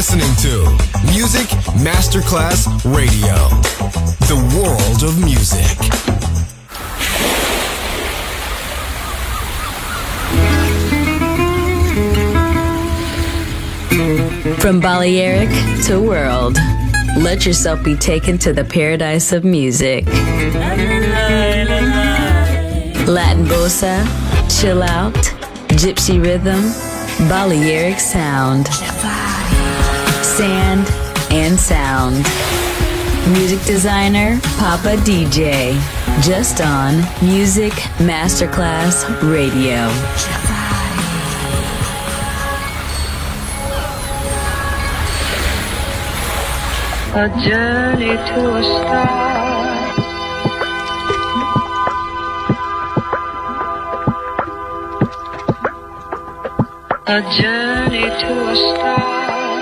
listening to Music Masterclass Radio, the world of music. From Balearic to world, let yourself be taken to the paradise of music. Latin bossa, chill out, gypsy rhythm, Balearic sound, sand and sound. Music designer, Papa DJ, just on Music Masterclass Radio. A journey to a star. A journey to a star.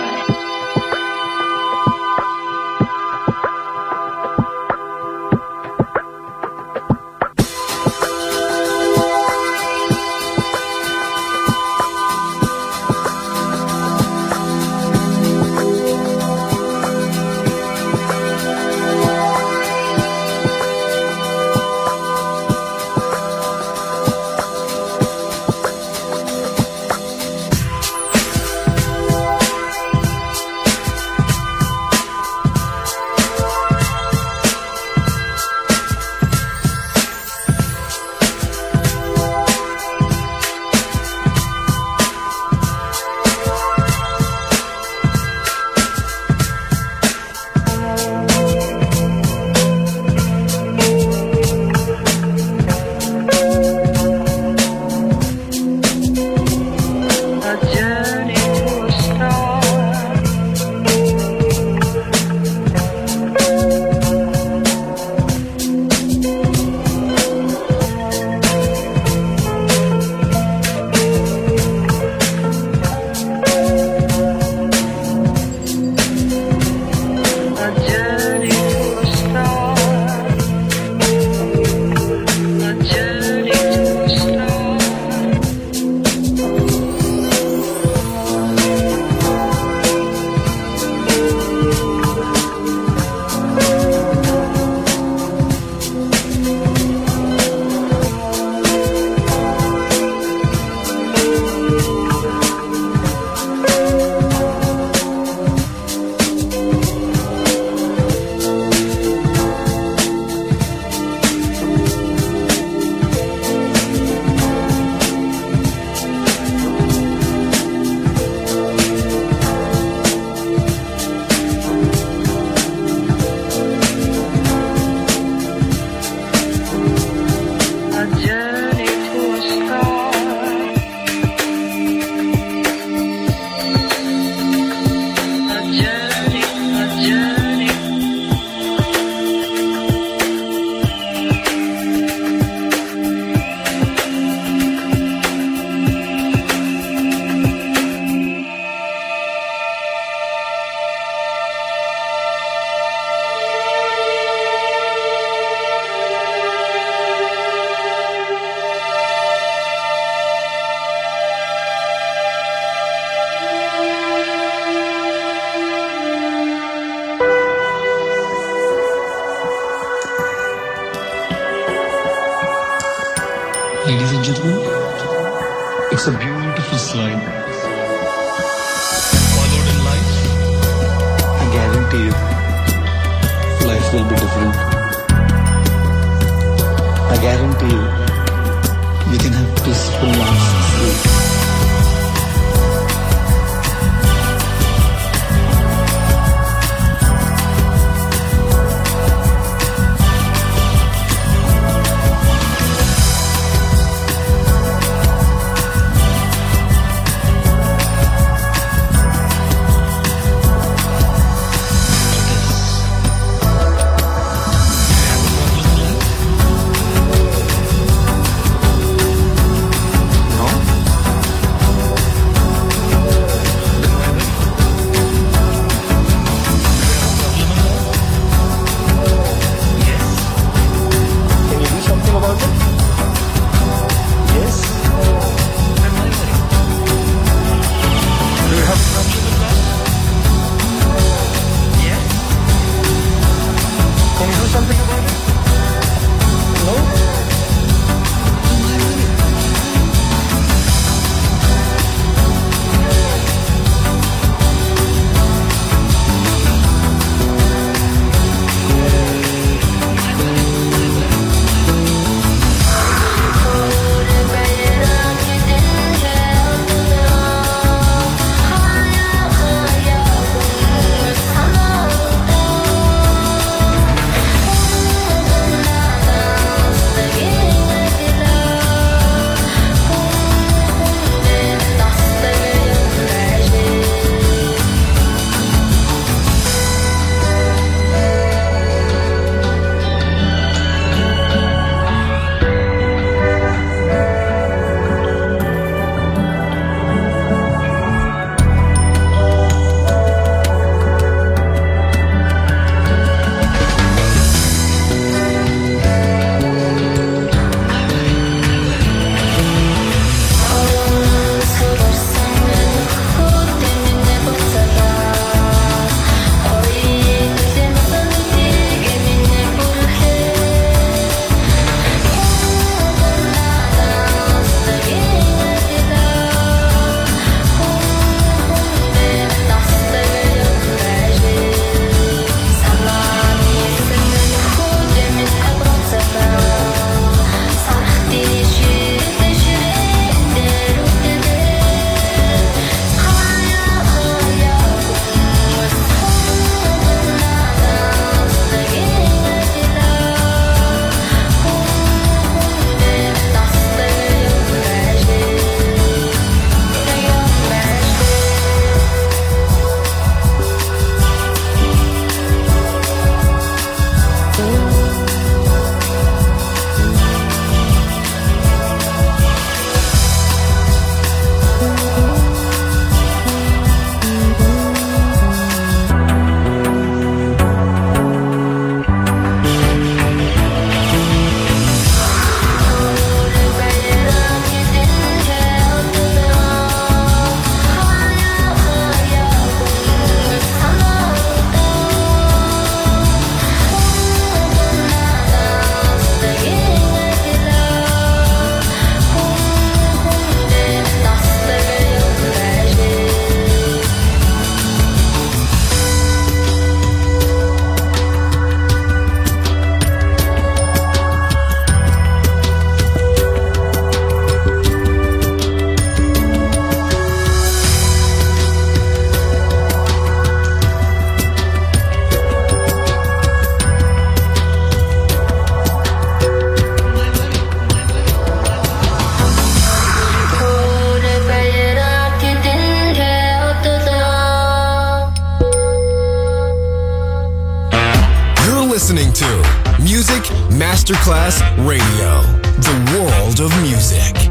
Ladies and gentlemen, it's a beautiful slide. Followed in life, I guarantee you, life will be different. I guarantee you, you can have peaceful lives. Masterclass Radio. The world of music.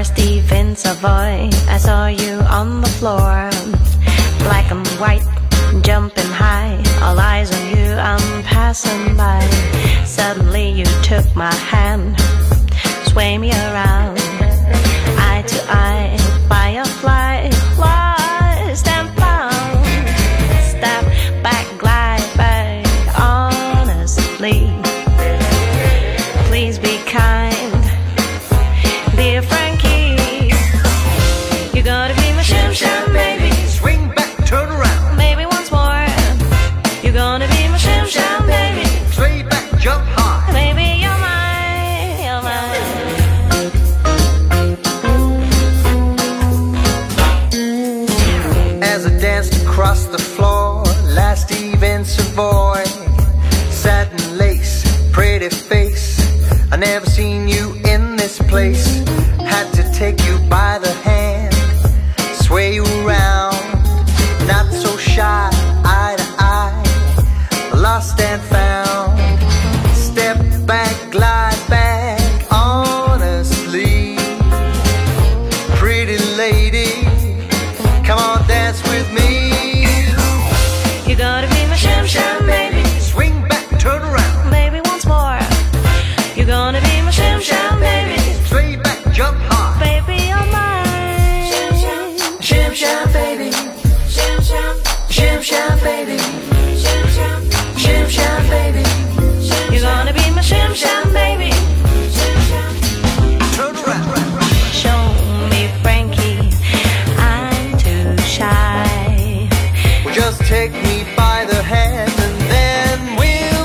Stephen Savoy, I saw you on the floor, black and white, jumping high, all eyes on you, I'm passing by. Suddenly you took my hand, sway me around, eye to eye, firefly, lost and found. Step back, glide back, honestly, please be kind, dear Frankie. You gotta be my shim sham baby. Swing back, turn around. Maybe once more. You're gonna be my shim sham baby. Sway back, jump high. Maybe you're mine, you're mine. As I danced across the floor, last Eve in Savoy, satin lace, pretty face. I never seen you in this place. Had to take you by the hand, sway you around, not so shy, eye to eye, lost and found. Step back, glide back, honestly, pretty lady, come on, dance with me. You gotta be my shim sham baby. Swing back, turn around. Maybe once more. You're gonna be my shim sham baby. Sway back, jump high. Baby, you're mine. Shim sham baby. Shim sham baby. Shim sham baby. You're gonna be my shim sham baby. Turn around. Show me Frankie, I'm too shy. Well, just take me by the hand and then we'll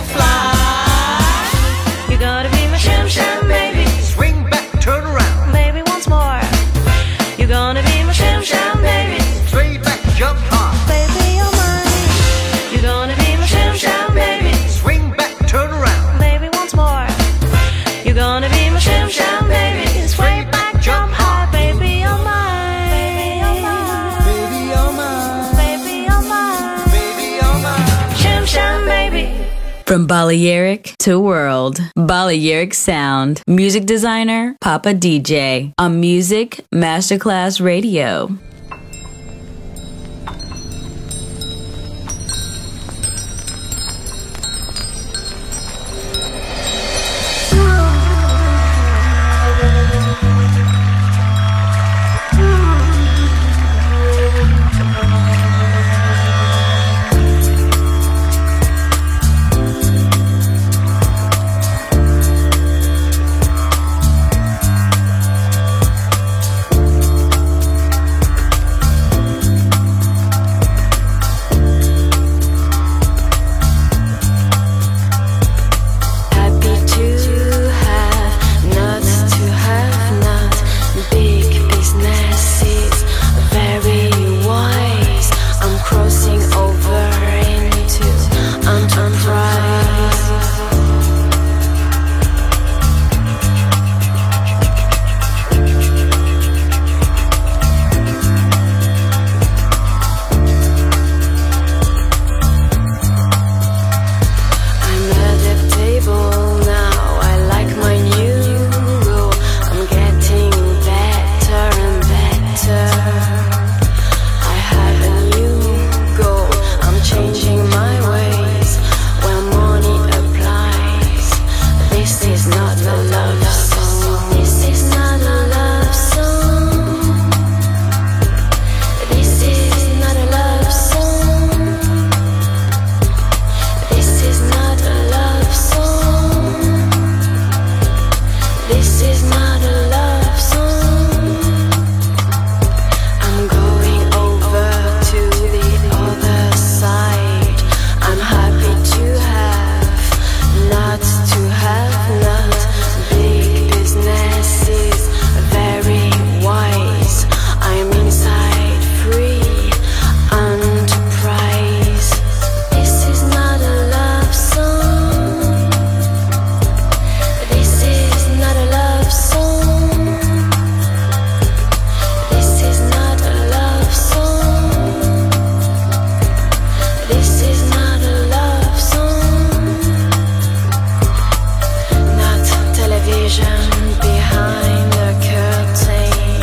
fly. You gotta be my shim sham baby. Swing back, turn around. Maybe once more. You're gonna be my shim sham baby. Sway back, jump high. Baby, you're mine. You're gonna be my shim sham baby. Swing back, turn around. Maybe once more. You're gonna be my shim sham baby. Sway back, jump high. Baby, you're mine. Baby, you're mine. Baby, you're mine. Baby, you're mine. Baby, you're mine. Shim sham baby. From Balearic to World, Balearic Sound. Music designer, Papa DJ. On Music Masterclass Radio. Behind the curtain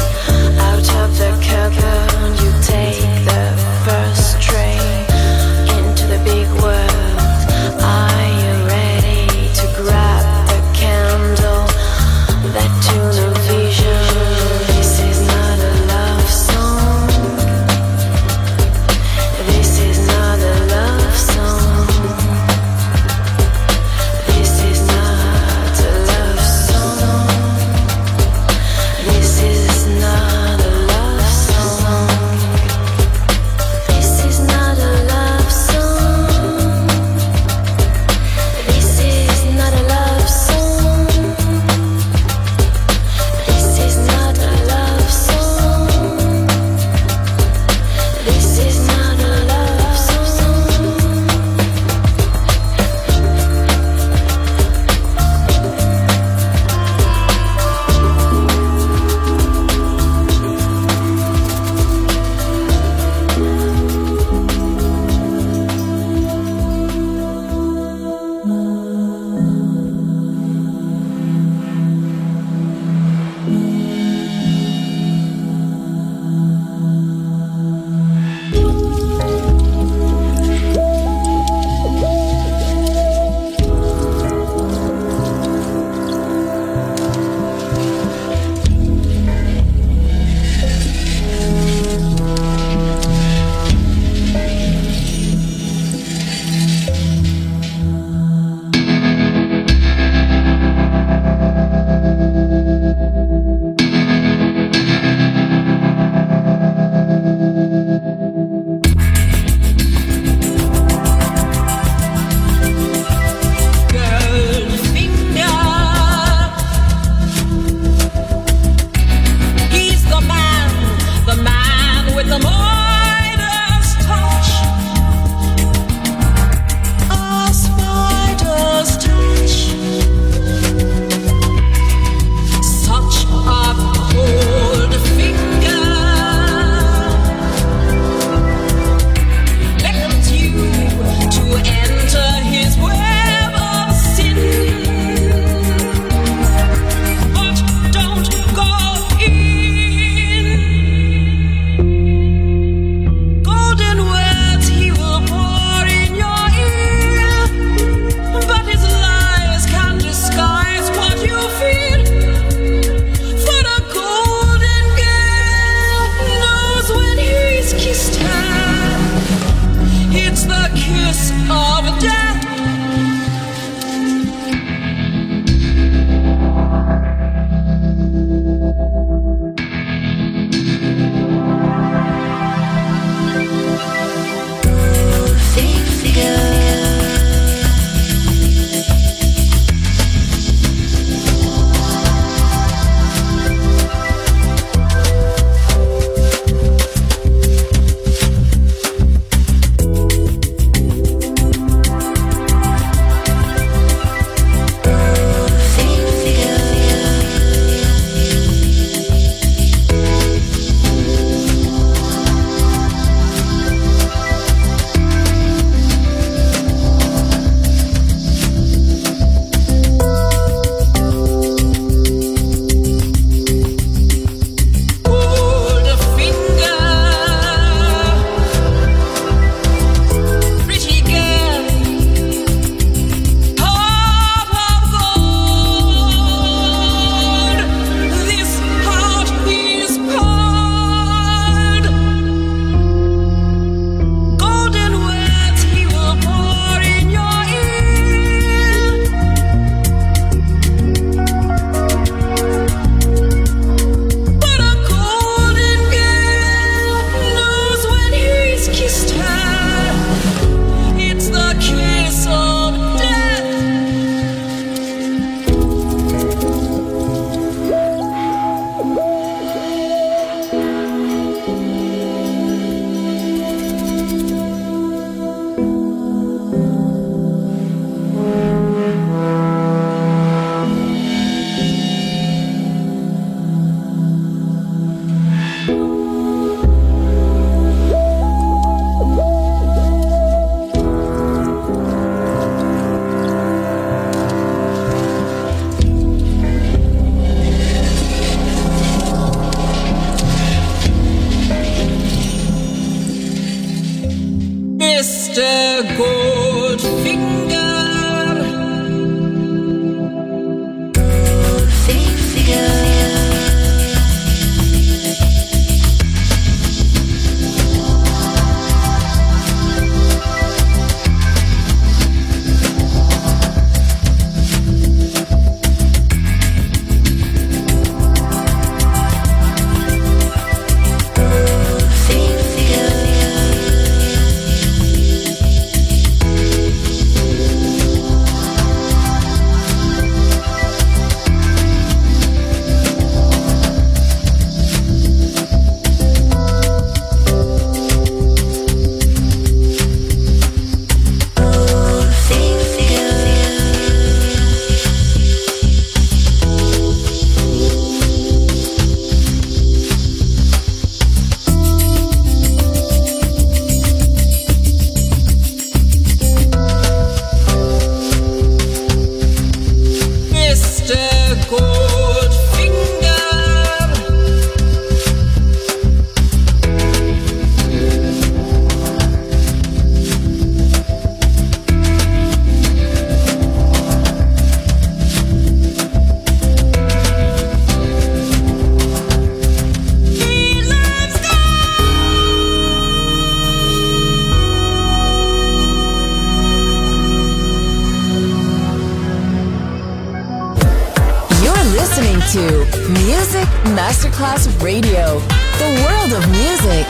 listening to Music Masterclass Radio, the world of music.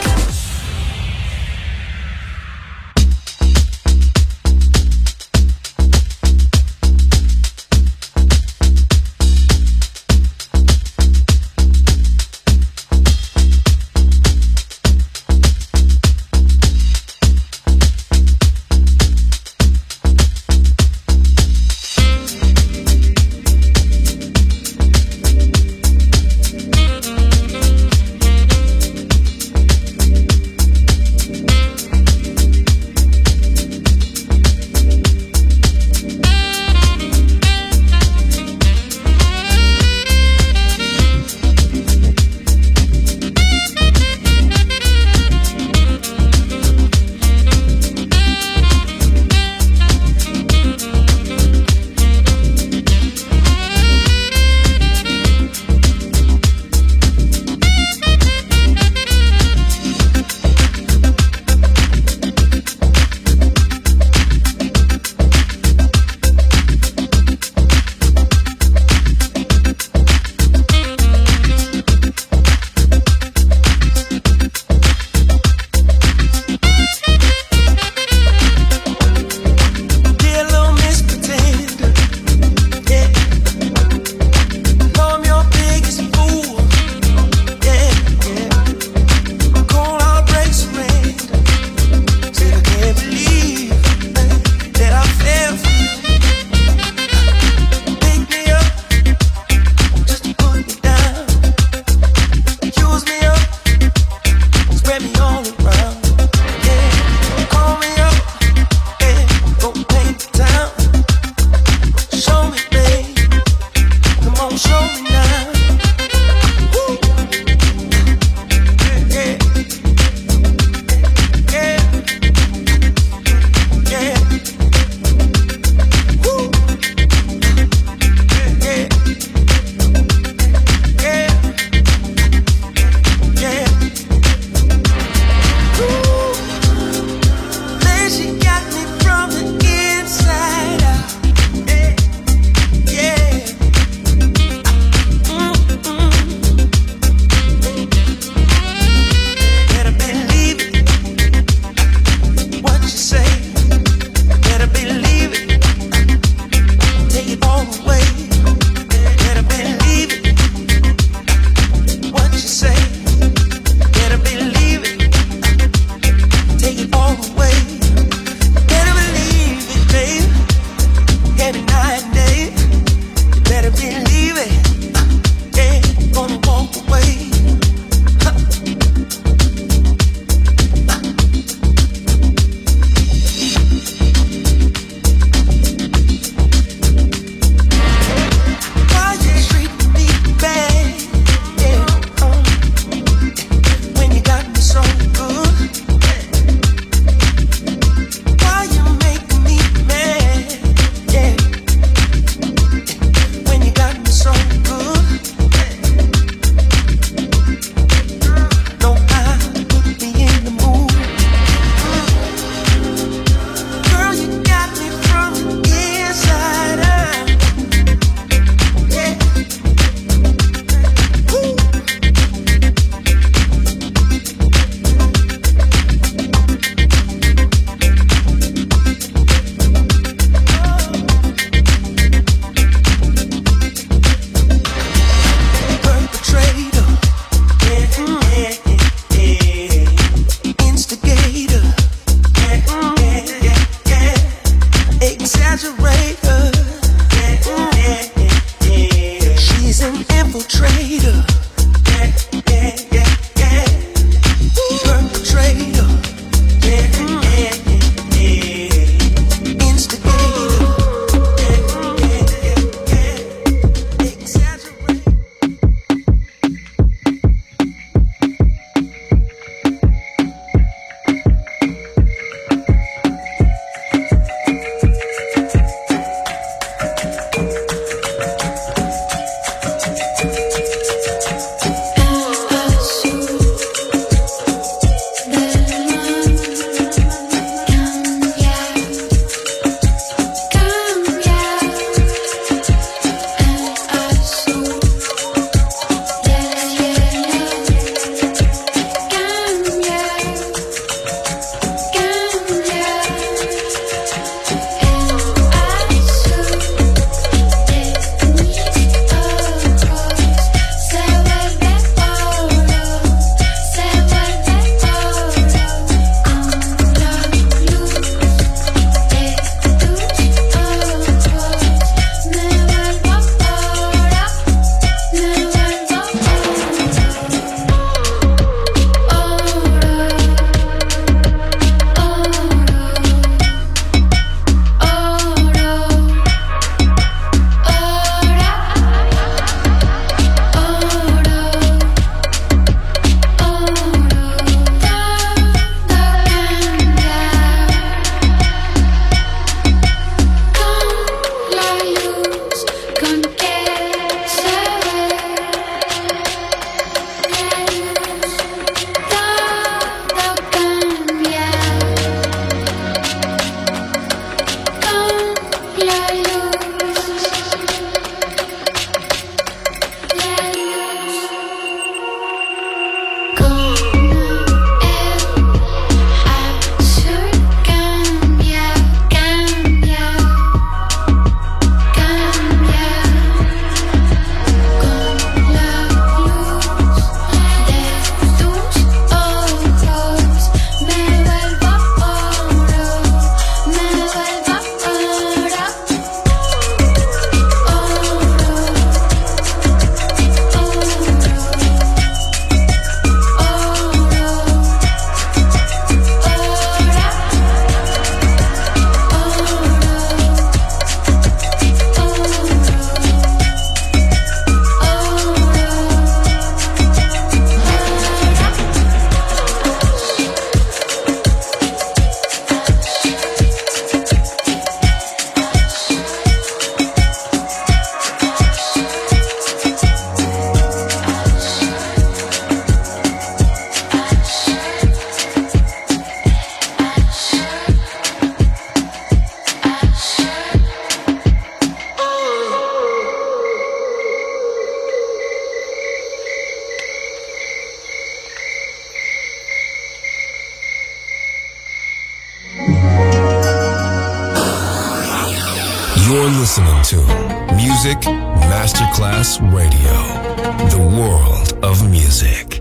listening to Music Masterclass Radio, the world of music.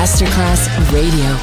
Masterclass Radio.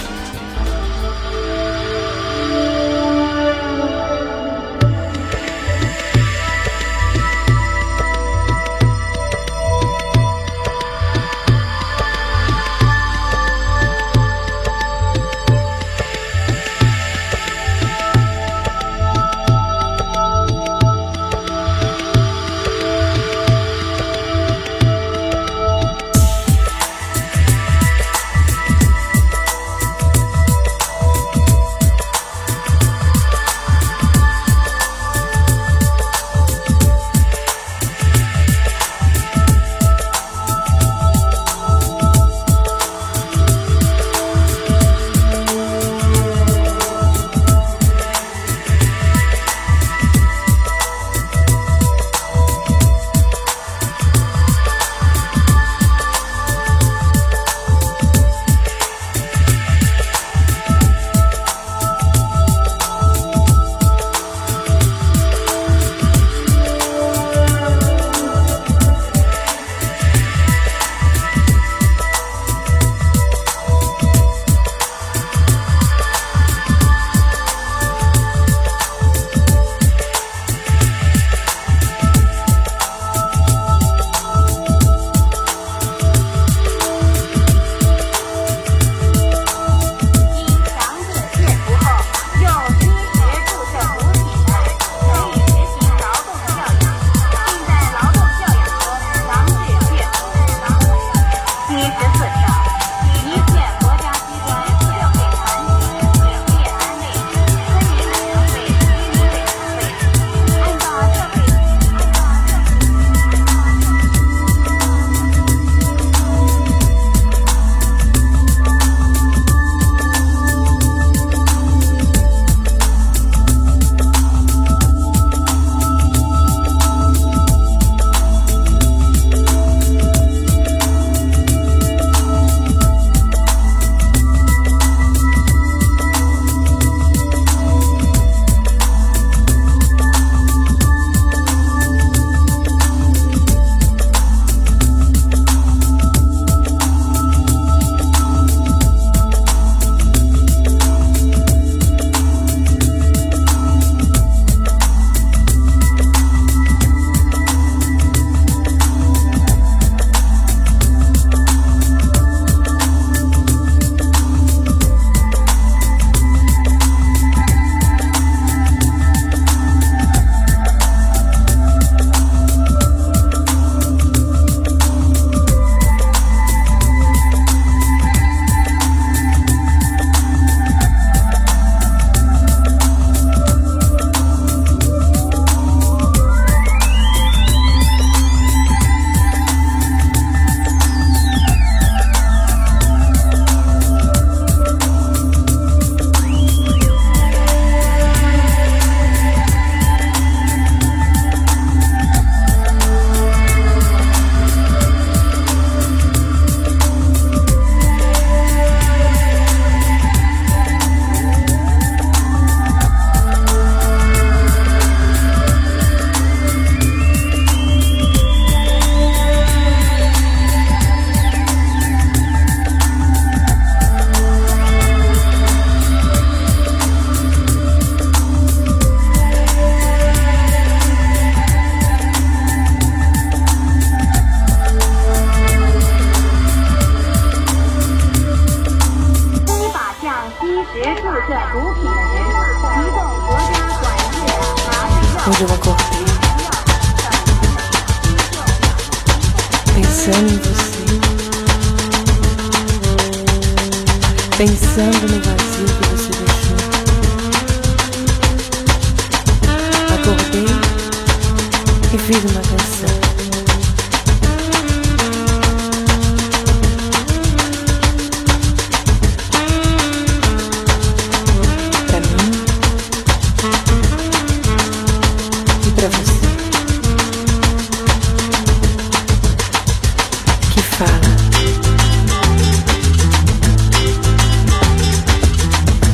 Hoje eu acordei pensando em você, pensando no vazio que você deixou. Acordei e fiz uma canção. Pra mim e pra você, que fala: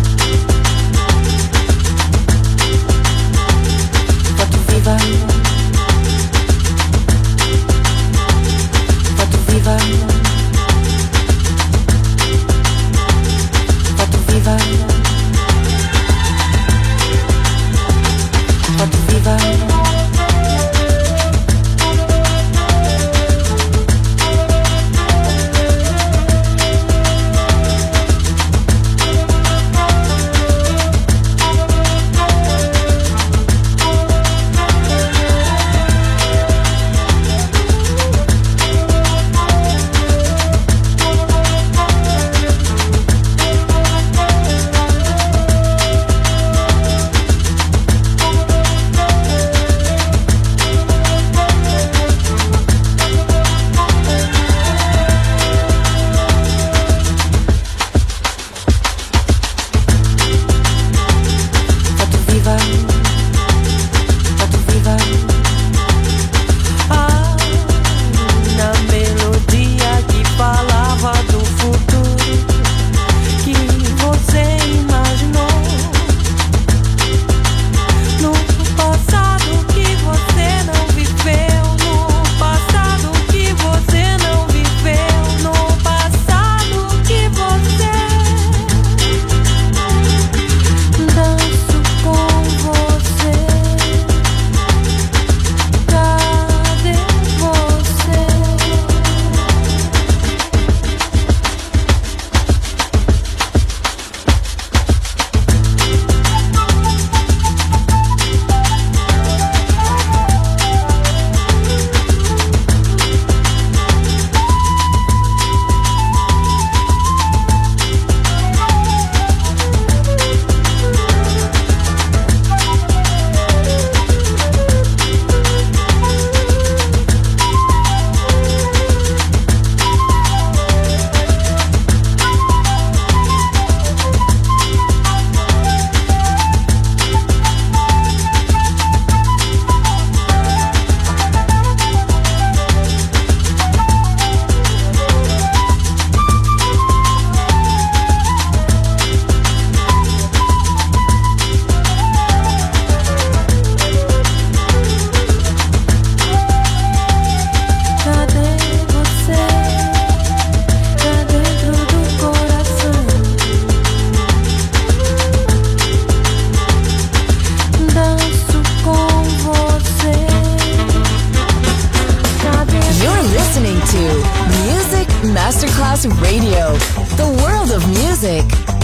Masterclass Radio, the world of music.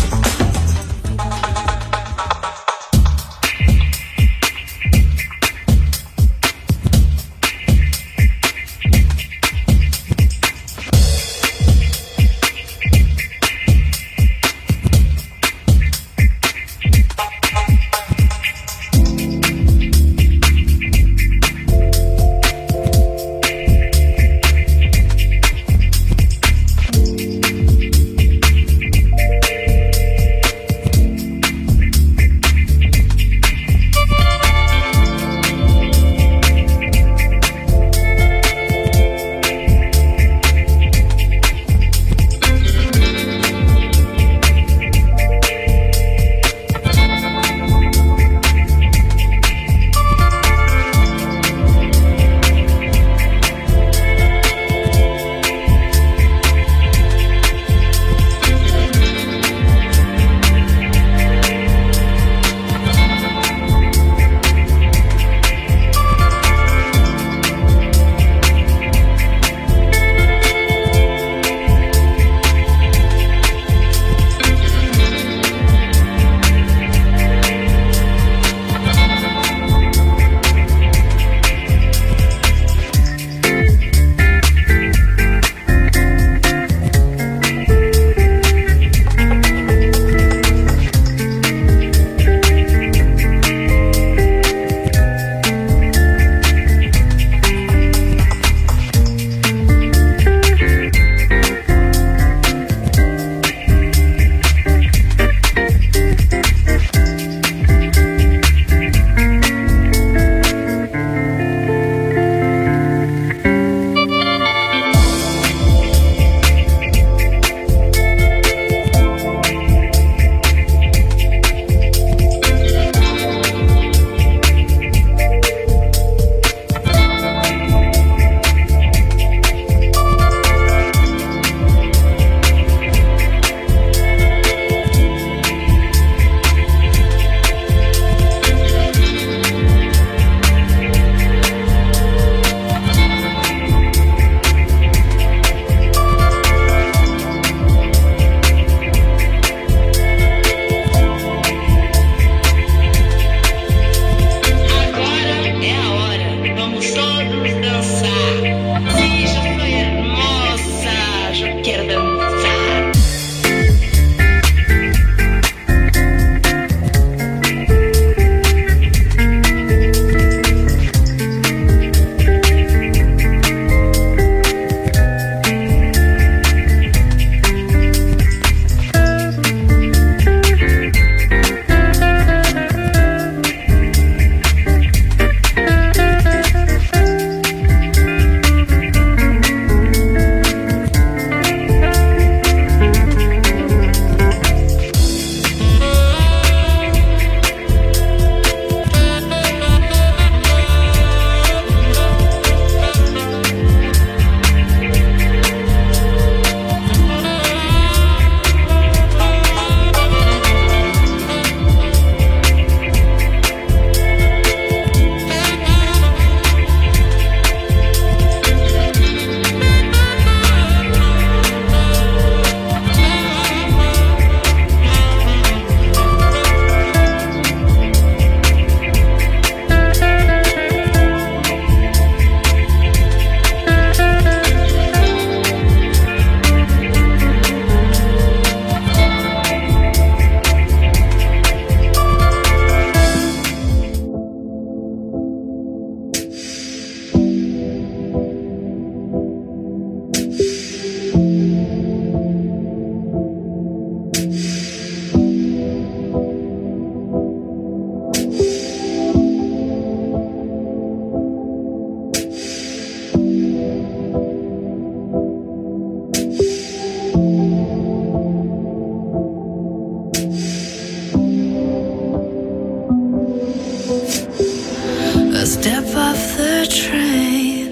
Step off the train,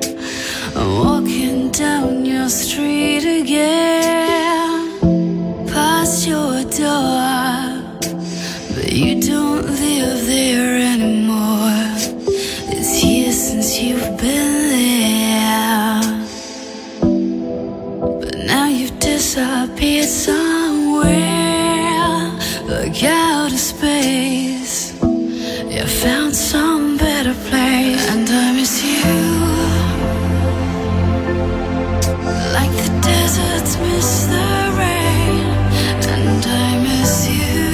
walking down your street again, past your door, but you don't live there anymore. It's years since you've been there, but now you've space. You found some better place, and I miss you. Like the deserts miss the rain, and I miss you.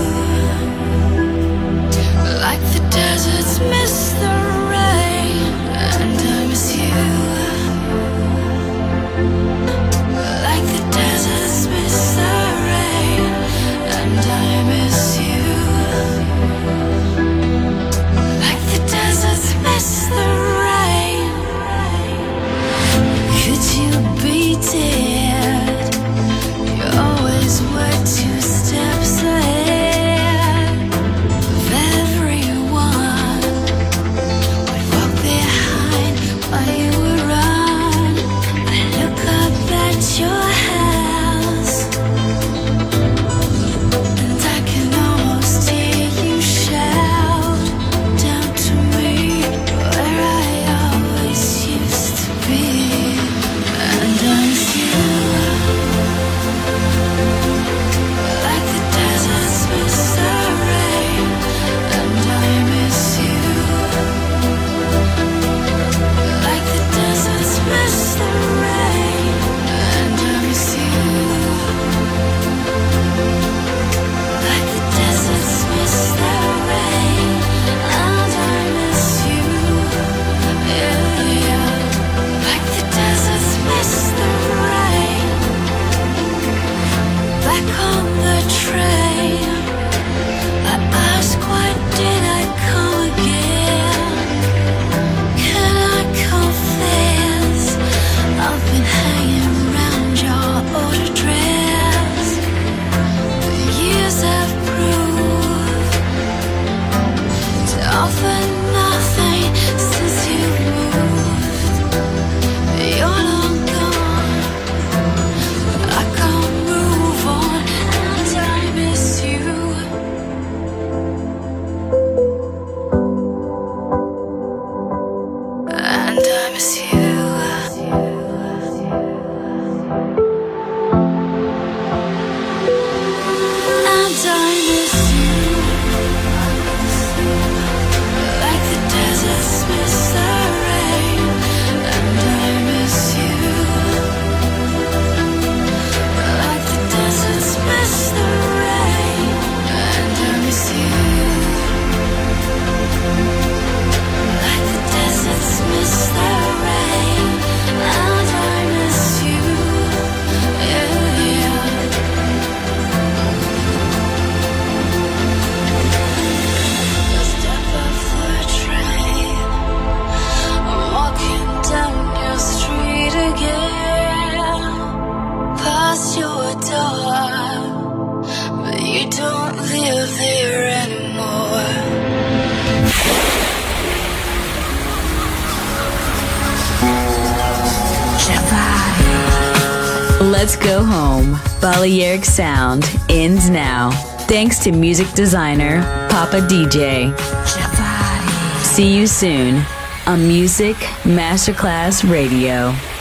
Like the deserts miss the rain, and I miss you. Like the deserts miss the rain, and I miss you. Like the deserts miss the rain. Could you be dead? You always were 2 steps ahead of everyone. Would walk behind while you would run. I look up at your house, and I can almost hear you shout down to me, where I always used to be. And I miss you. Like the deserts miss the rain, and I miss you. Like the deserts miss the rain, and I miss you. Like the deserts miss the rain, and I miss you. Yeah, yeah. Like the deserts miss the rain. Back on the train, I ask, why did I come again? Can I confess, I've been hanging around your old address. The years have proved to offer nothing since you moved. You're long gone, but I can't move on, and I miss you. And I miss you. And I miss you. Like the deserts miss the rain, and I miss you. Like the deserts miss the rain, and I miss you. Like the deserts miss the rain, and I miss you. Yeah, yeah. Step off the train, I'm walking down your street again, past your door, but you don't live there anymore. Let's go home. Balearic Sound ends now. Thanks to music designer Papa DJ. See you soon on Music Masterclass Radio.